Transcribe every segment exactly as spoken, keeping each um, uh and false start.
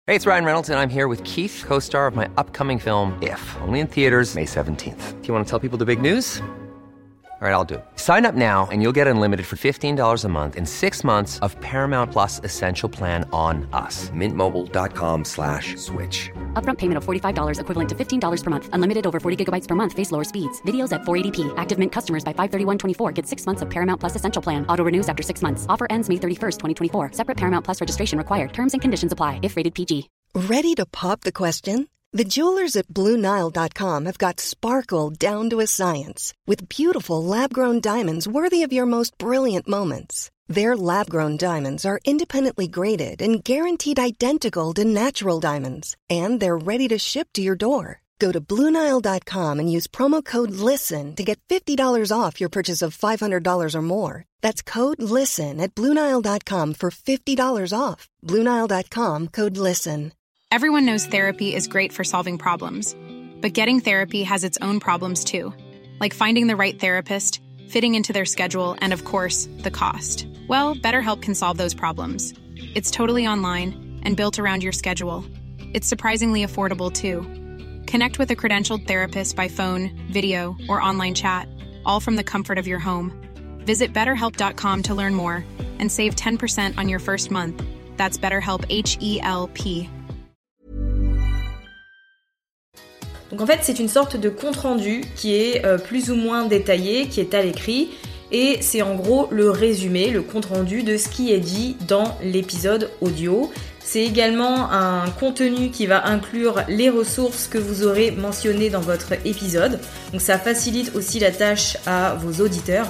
Hey, it's Ryan Reynolds, and I'm here with Keith, co-star of my upcoming film, If, only in theaters May seventeenth. Do you want to tell people the big news? All right, I'll do it. Sign up now and you'll get unlimited for fifteen dollars a month and six months of Paramount Plus Essential Plan on us. Mint Mobile dot com slash switch. Upfront payment of forty-five dollars equivalent to fifteen dollars per month. Unlimited over forty gigabytes per month. Face lower speeds. Videos at four eighty p. Active Mint customers by five thirty-one twenty-four get six months of Paramount Plus Essential Plan. Auto renews after six months. Offer ends May thirty-first, twenty twenty-four. Separate Paramount Plus registration required. Terms and conditions apply if rated P G. Ready to pop the question? The jewelers at Blue Nile dot com have got sparkle down to a science with beautiful lab-grown diamonds worthy of your most brilliant moments. Their lab-grown diamonds are independently graded and guaranteed identical to natural diamonds, and they're ready to ship to your door. Go to Blue Nile dot com and use promo code LISTEN to get fifty dollars off your purchase of five hundred dollars or more. That's code LISTEN at Blue Nile dot com for fifty dollars off. Blue Nile dot com, code LISTEN. Everyone knows therapy is great for solving problems, but getting therapy has its own problems too, like finding the right therapist, fitting into their schedule, and of course, the cost. Well, BetterHelp can solve those problems. It's totally online and built around your schedule. It's surprisingly affordable too. Connect with a credentialed therapist by phone, video, or online chat, all from the comfort of your home. Visit better help dot com to learn more and save ten percent on your first month. That's BetterHelp, H E L P. Donc en fait, c'est une sorte de compte-rendu qui est euh, plus ou moins détaillé, qui est à l'écrit, et c'est en gros le résumé, le compte-rendu de ce qui est dit dans l'épisode audio. C'est également un contenu qui va inclure les ressources que vous aurez mentionnées dans votre épisode, donc ça facilite aussi la tâche à vos auditeurs.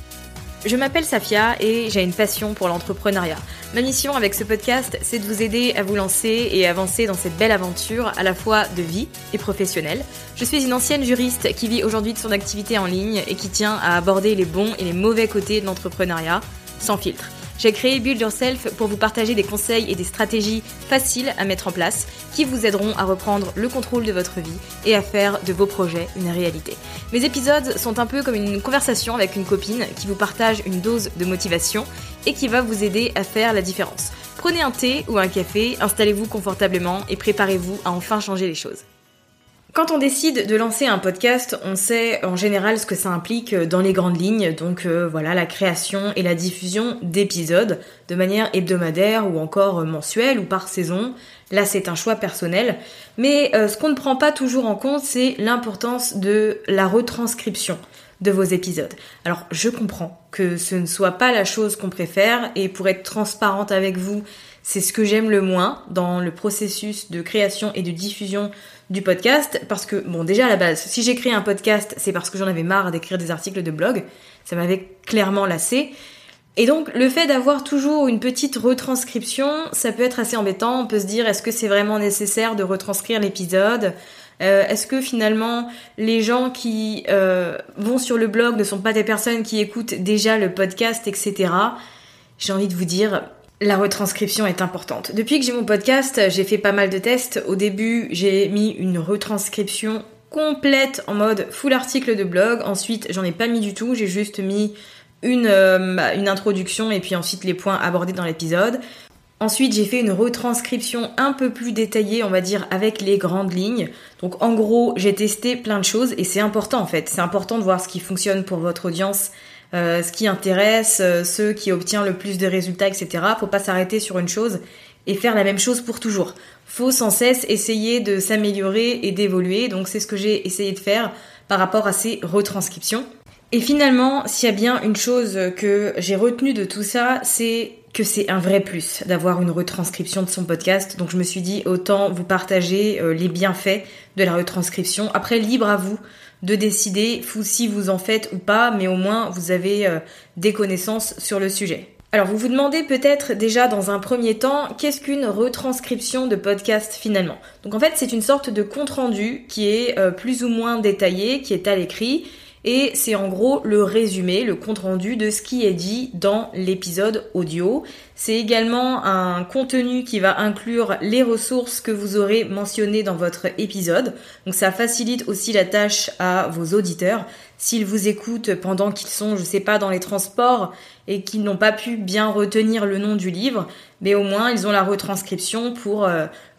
Je m'appelle Safia et j'ai une passion pour l'entrepreneuriat. Ma mission avec ce podcast, c'est de vous aider à vous lancer et avancer dans cette belle aventure à la fois de vie et professionnelle. Je suis une ancienne juriste qui vit aujourd'hui de son activité en ligne et qui tient à aborder les bons et les mauvais côtés de l'entrepreneuriat sans filtre. J'ai créé Build Yourself pour vous partager des conseils et des stratégies faciles à mettre en place qui vous aideront à reprendre le contrôle de votre vie et à faire de vos projets une réalité. Mes épisodes sont un peu comme une conversation avec une copine qui vous partage une dose de motivation et qui va vous aider à faire la différence. Prenez un thé ou un café, installez-vous confortablement et préparez-vous à enfin changer les choses. Quand on décide de lancer un podcast, on sait en général ce que ça implique dans les grandes lignes, donc euh, voilà la création et la diffusion d'épisodes de manière hebdomadaire ou encore mensuelle ou par saison. Là c'est un choix personnel, mais euh, ce qu'on ne prend pas toujours en compte, c'est l'importance de la retranscription de vos épisodes. Alors je comprends que ce ne soit pas la chose qu'on préfère et pour être transparente avec vous, c'est ce que j'aime le moins dans le processus de création et de diffusion du podcast, parce que, bon, déjà à la base, si j'ai créé un podcast, c'est parce que j'en avais marre d'écrire des articles de blog, ça m'avait clairement lassé, et donc le fait d'avoir toujours une petite retranscription, ça peut être assez embêtant, on peut se dire, est-ce que c'est vraiment nécessaire de retranscrire l'épisode ? Euh, est-ce que finalement les gens qui euh, vont sur le blog ne sont pas des personnes qui écoutent déjà le podcast, et cetera. J'ai envie de vous dire... La retranscription est importante. Depuis que j'ai mon podcast, j'ai fait pas mal de tests. Au début, j'ai mis une retranscription complète en mode full article de blog. Ensuite, j'en ai pas mis du tout. J'ai juste mis une, euh, une introduction et puis ensuite les points abordés dans l'épisode. Ensuite, j'ai fait une retranscription un peu plus détaillée, on va dire, avec les grandes lignes. Donc en gros, j'ai testé plein de choses et c'est important en fait. C'est important de voir ce qui fonctionne pour votre audience, Euh, ce qui intéresse, euh, ceux qui obtiennent le plus de résultats, et cetera. Faut pas s'arrêter sur une chose et faire la même chose pour toujours. Faut sans cesse essayer de s'améliorer et d'évoluer. Donc c'est ce que j'ai essayé de faire par rapport à ces retranscriptions. Et finalement, s'il y a bien une chose que j'ai retenue de tout ça, c'est que c'est un vrai plus d'avoir une retranscription de son podcast. Donc je me suis dit autant vous partager euh, les bienfaits de la retranscription. Après, libre à vous de décider si vous en faites ou pas, mais au moins vous avez euh, des connaissances sur le sujet. Alors vous vous demandez peut-être déjà dans un premier temps, qu'est-ce qu'une retranscription de podcast finalement ? Donc en fait c'est une sorte de compte-rendu qui est euh, plus ou moins détaillé, qui est à l'écrit, et c'est en gros le résumé, le compte-rendu de ce qui est dit dans l'épisode audio. C'est également un contenu qui va inclure les ressources que vous aurez mentionnées dans votre épisode. Donc ça facilite aussi la tâche à vos auditeurs. S'ils vous écoutent pendant qu'ils sont, je sais pas, dans les transports et qu'ils n'ont pas pu bien retenir le nom du livre, mais au moins ils ont la retranscription pour, euh,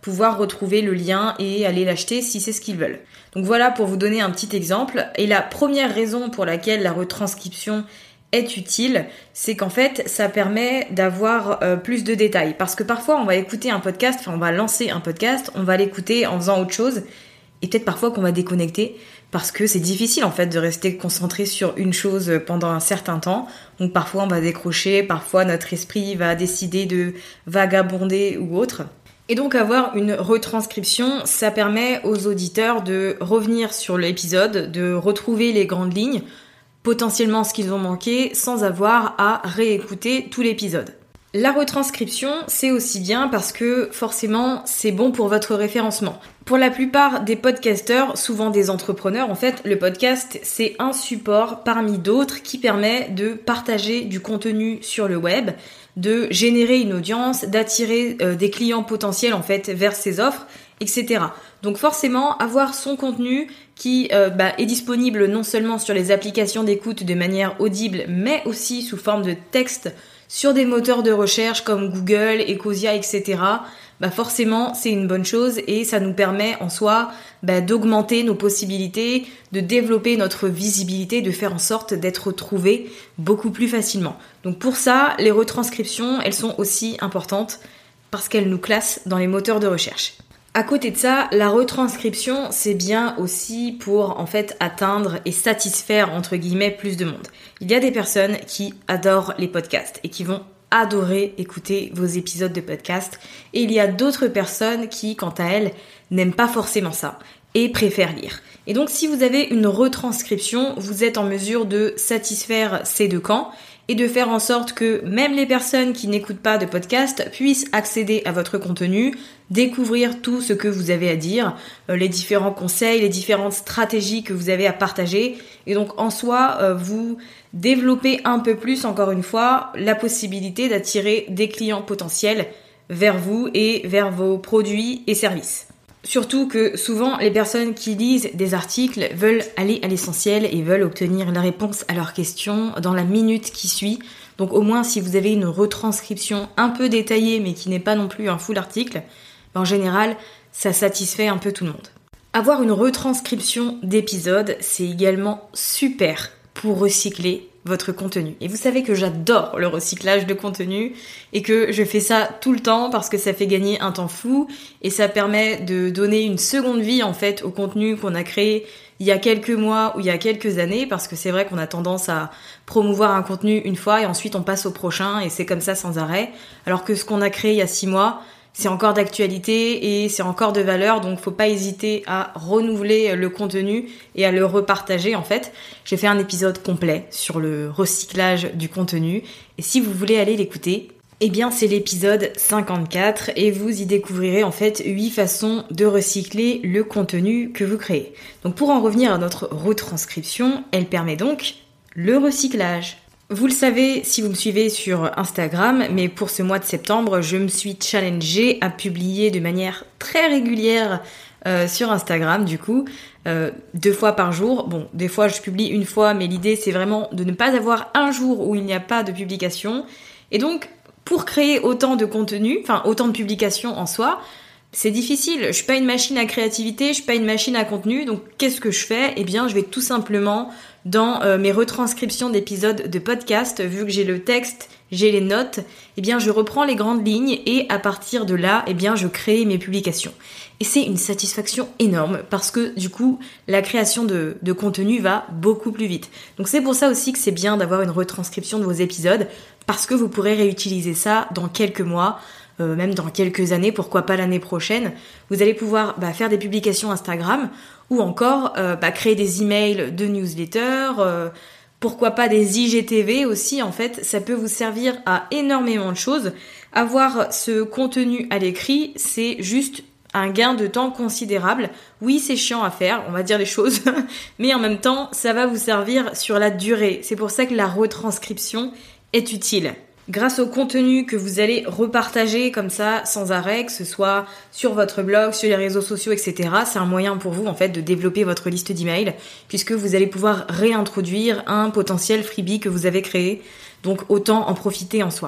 pouvoir retrouver le lien et aller l'acheter si c'est ce qu'ils veulent. Donc voilà pour vous donner un petit exemple. Et la première raison pour laquelle la retranscription est utile, c'est qu'en fait, ça permet d'avoir euh, plus de détails. Parce que parfois, on va écouter un podcast, enfin on va lancer un podcast, on va l'écouter en faisant autre chose, et peut-être parfois qu'on va déconnecter, parce que c'est difficile en fait de rester concentré sur une chose pendant un certain temps. Donc parfois on va décrocher, parfois notre esprit va décider de vagabonder ou autre. Et donc avoir une retranscription, ça permet aux auditeurs de revenir sur l'épisode, de retrouver les grandes lignes, potentiellement ce qu'ils ont manqué, sans avoir à réécouter tout l'épisode. La retranscription, c'est aussi bien parce que forcément, c'est bon pour votre référencement. Pour la plupart des podcasteurs, souvent des entrepreneurs, en fait, le podcast, c'est un support parmi d'autres qui permet de partager du contenu sur le web, de générer une audience, d'attirer euh, des clients potentiels en fait vers ses offres, et cetera. Donc forcément, avoir son contenu qui euh, bah, est disponible non seulement sur les applications d'écoute de manière audible, mais aussi sous forme de texte sur des moteurs de recherche comme Google, Ecosia, et cetera, bah forcément c'est une bonne chose et ça nous permet en soi bah, d'augmenter nos possibilités, de développer notre visibilité, de faire en sorte d'être trouvés beaucoup plus facilement. Donc pour ça, les retranscriptions, elles sont aussi importantes parce qu'elles nous classent dans les moteurs de recherche. À côté de ça, la retranscription, c'est bien aussi pour en fait atteindre et satisfaire entre guillemets plus de monde. Il y a des personnes qui adorent les podcasts et qui vont adorer écouter vos épisodes de podcast. Et il y a d'autres personnes qui, quant à elles, n'aiment pas forcément ça et préfèrent lire. Et donc si vous avez une retranscription, vous êtes en mesure de satisfaire ces deux camps et de faire en sorte que même les personnes qui n'écoutent pas de podcast puissent accéder à votre contenu, découvrir tout ce que vous avez à dire, euh, les différents conseils, les différentes stratégies que vous avez à partager. Et donc en soi, euh, vous développez un peu plus, encore une fois, la possibilité d'attirer des clients potentiels vers vous et vers vos produits et services. Surtout que souvent, les personnes qui lisent des articles veulent aller à l'essentiel et veulent obtenir la réponse à leurs questions dans la minute qui suit. Donc au moins, si vous avez une retranscription un peu détaillée, mais qui n'est pas non plus un full article, en général, ça satisfait un peu tout le monde. Avoir une retranscription d'épisode, c'est également super pour recycler votre contenu. Et vous savez que j'adore le recyclage de contenu et que je fais ça tout le temps parce que ça fait gagner un temps fou et ça permet de donner une seconde vie en fait au contenu qu'on a créé il y a quelques mois ou il y a quelques années, parce que c'est vrai qu'on a tendance à promouvoir un contenu une fois et ensuite on passe au prochain et c'est comme ça sans arrêt, alors que ce qu'on a créé il y a six mois, c'est encore d'actualité et c'est encore de valeur, donc faut pas hésiter à renouveler le contenu et à le repartager en fait. J'ai fait un épisode complet sur le recyclage du contenu et si vous voulez aller l'écouter, eh bien c'est l'épisode cinquante-quatre et vous y découvrirez en fait huit façons de recycler le contenu que vous créez. Donc pour en revenir à notre retranscription, elle permet donc le recyclage. Vous le savez si vous me suivez sur Instagram, mais pour ce mois de septembre, je me suis challengée à publier de manière très régulière euh, sur Instagram, du coup, euh, deux fois par jour. Bon, des fois je publie une fois, mais l'idée c'est vraiment de ne pas avoir un jour où il n'y a pas de publication. Et donc, pour créer autant de contenu, enfin autant de publications en soi, c'est difficile. Je suis pas une machine à créativité, je suis pas une machine à contenu, donc qu'est-ce que je fais ? Eh bien, je vais tout simplement dans euh, mes retranscriptions d'épisodes de podcast, vu que j'ai le texte, j'ai les notes, eh bien je reprends les grandes lignes et à partir de là, eh bien je crée mes publications. Et c'est une satisfaction énorme parce que du coup, la création de, de contenu va beaucoup plus vite. Donc c'est pour ça aussi que c'est bien d'avoir une retranscription de vos épisodes, parce que vous pourrez réutiliser ça dans quelques mois, Euh, même dans quelques années, pourquoi pas l'année prochaine. Vous allez pouvoir bah, faire des publications Instagram ou encore euh, bah, créer des emails de newsletter, euh, pourquoi pas des I G T V aussi, en fait, ça peut vous servir à énormément de choses. Avoir ce contenu à l'écrit, c'est juste un gain de temps considérable. Oui, c'est chiant à faire, on va dire les choses, mais en même temps, ça va vous servir sur la durée. C'est pour ça que la retranscription est utile. Grâce au contenu que vous allez repartager comme ça sans arrêt, que ce soit sur votre blog, sur les réseaux sociaux, et cetera, c'est un moyen pour vous en fait de développer votre liste d'emails puisque vous allez pouvoir réintroduire un potentiel freebie que vous avez créé. Donc autant en profiter en soi.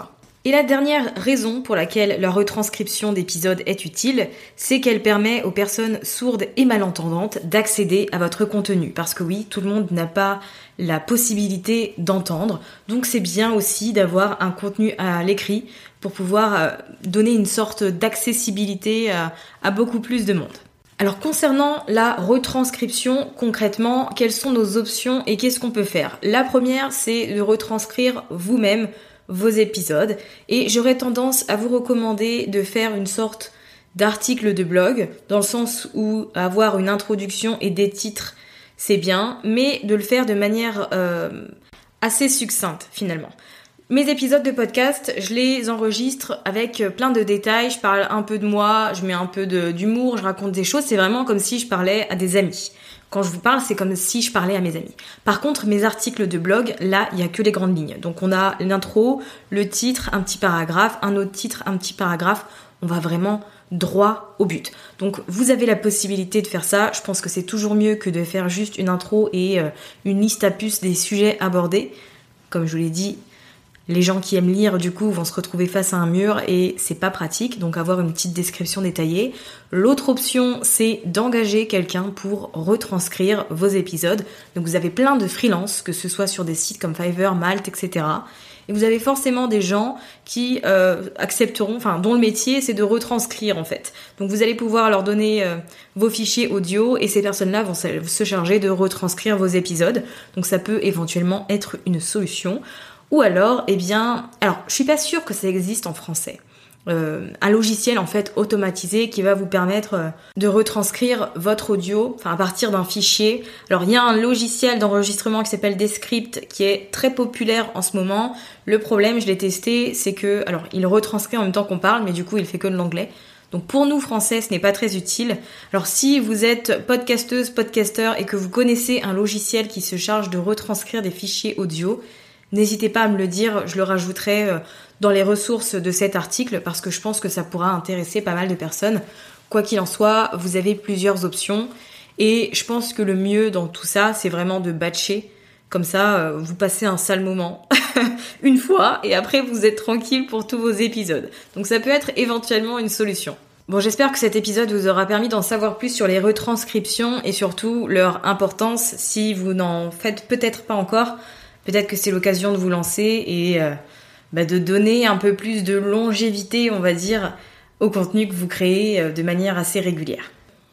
Et la dernière raison pour laquelle la retranscription d'épisodes est utile, c'est qu'elle permet aux personnes sourdes et malentendantes d'accéder à votre contenu. Parce que oui, tout le monde n'a pas la possibilité d'entendre, donc c'est bien aussi d'avoir un contenu à l'écrit pour pouvoir donner une sorte d'accessibilité à, à beaucoup plus de monde. Alors concernant la retranscription, concrètement, quelles sont nos options et qu'est-ce qu'on peut faire ? La première, c'est de retranscrire vous-même vos épisodes et j'aurais tendance à vous recommander de faire une sorte d'article de blog dans le sens où avoir une introduction et des titres c'est bien, mais de le faire de manière euh, assez succincte finalement. Mes épisodes de podcast, je les enregistre avec plein de détails, je parle un peu de moi, je mets un peu de, d'humour, je raconte des choses, c'est vraiment comme si je parlais à des amis. Quand je vous parle, c'est comme si je parlais à mes amis. Par contre, mes articles de blog, là, il n'y a que les grandes lignes. Donc on a l'intro, le titre, un petit paragraphe, un autre titre, un petit paragraphe. On va vraiment droit au but. Donc vous avez la possibilité de faire ça. Je pense que c'est toujours mieux que de faire juste une intro et euh, une liste à puces des sujets abordés. Comme je vous l'ai dit, les gens qui aiment lire, du coup, vont se retrouver face à un mur et c'est pas pratique, donc avoir une petite description détaillée. L'autre option, c'est d'engager quelqu'un pour retranscrire vos épisodes. Donc vous avez plein de freelance, que ce soit sur des sites comme Fiverr, Malte, et cetera. Et vous avez forcément des gens qui euh, accepteront, enfin, dont le métier, c'est de retranscrire, en fait. Donc vous allez pouvoir leur donner euh, vos fichiers audio et ces personnes-là vont se charger de retranscrire vos épisodes. Donc ça peut éventuellement être une solution. Ou alors, eh bien, alors je suis pas sûre que ça existe en français. Euh, un logiciel en fait automatisé qui va vous permettre euh, de retranscrire votre audio, enfin à partir d'un fichier. Alors il y a un logiciel d'enregistrement qui s'appelle Descript qui est très populaire en ce moment. Le problème, je l'ai testé, c'est que, alors il retranscrit en même temps qu'on parle, mais du coup il fait que de l'anglais. Donc pour nous français, ce n'est pas très utile. Alors si vous êtes podcasteuse, podcasteur et que vous connaissez un logiciel qui se charge de retranscrire des fichiers audio, n'hésitez pas à me le dire, je le rajouterai dans les ressources de cet article parce que je pense que ça pourra intéresser pas mal de personnes. Quoi qu'il en soit, vous avez plusieurs options et je pense que le mieux dans tout ça, c'est vraiment de batcher. Comme ça, vous passez un sale moment une fois et après vous êtes tranquille pour tous vos épisodes. Donc ça peut être éventuellement une solution. Bon, j'espère que cet épisode vous aura permis d'en savoir plus sur les retranscriptions et surtout leur importance si vous n'en faites peut-être pas encore. Peut-être que c'est l'occasion de vous lancer et euh, bah de donner un peu plus de longévité, on va dire, au contenu que vous créez euh, de manière assez régulière.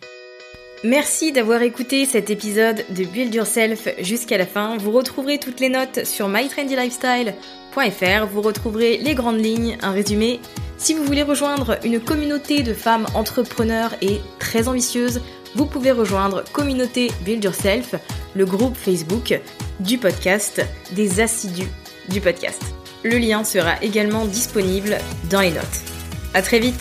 Merci d'avoir écouté cet épisode de Build Yourself jusqu'à la fin. Vous retrouverez toutes les notes sur my trendy lifestyle point f r. Vous retrouverez les grandes lignes, un résumé. Si vous voulez rejoindre une communauté de femmes entrepreneurs et très ambitieuses, vous pouvez rejoindre Communauté Build Yourself, le groupe Facebook du podcast, des assidus du podcast. Le lien sera également disponible dans les notes. À très vite!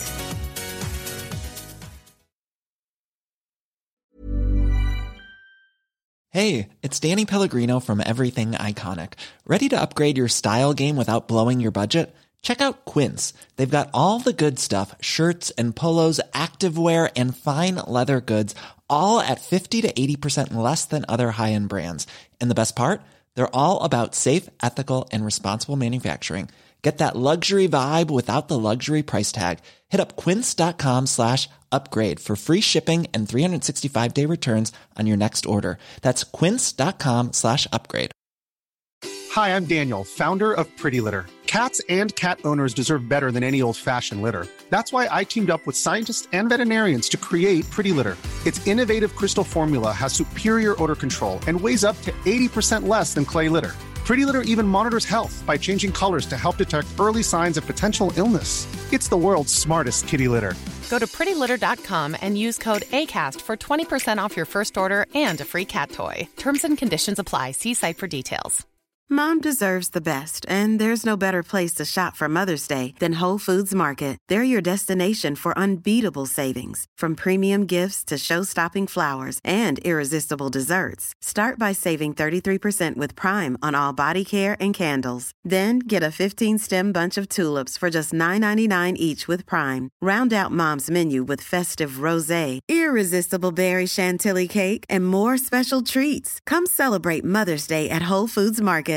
Hey, it's Danny Pellegrino from Everything Iconic. Ready to upgrade your style game without blowing your budget? Check out Quince. They've got all the good stuff, shirts and polos, activewear, and fine leather goods, all at fifty to eighty percent less than other high-end brands. And the best part? They're all about safe, ethical, and responsible manufacturing. Get that luxury vibe without the luxury price tag. Hit up quince.com slash upgrade for free shipping and three sixty-five day returns on your next order. That's quince.com slash upgrade. Hi, I'm Daniel, founder of Pretty Litter. Cats and cat owners deserve better than any old-fashioned litter. That's why I teamed up with scientists and veterinarians to create Pretty Litter. Its innovative crystal formula has superior odor control and weighs up to eighty percent less than clay litter. Pretty Litter even monitors health by changing colors to help detect early signs of potential illness. It's the world's smartest kitty litter. Go to pretty litter dot com and use code ACAST for twenty percent off your first order and a free cat toy. Terms and conditions apply. See site for details. Mom deserves the best, and there's no better place to shop for Mother's Day than Whole Foods Market. They're your destination for unbeatable savings, from premium gifts to show-stopping flowers and irresistible desserts. Start by saving thirty-three percent with Prime on all body care and candles. Then get a fifteen-stem bunch of tulips for just nine ninety-nine each with Prime. Round out Mom's menu with festive rosé, irresistible berry chantilly cake, and more special treats. Come celebrate Mother's Day at Whole Foods Market.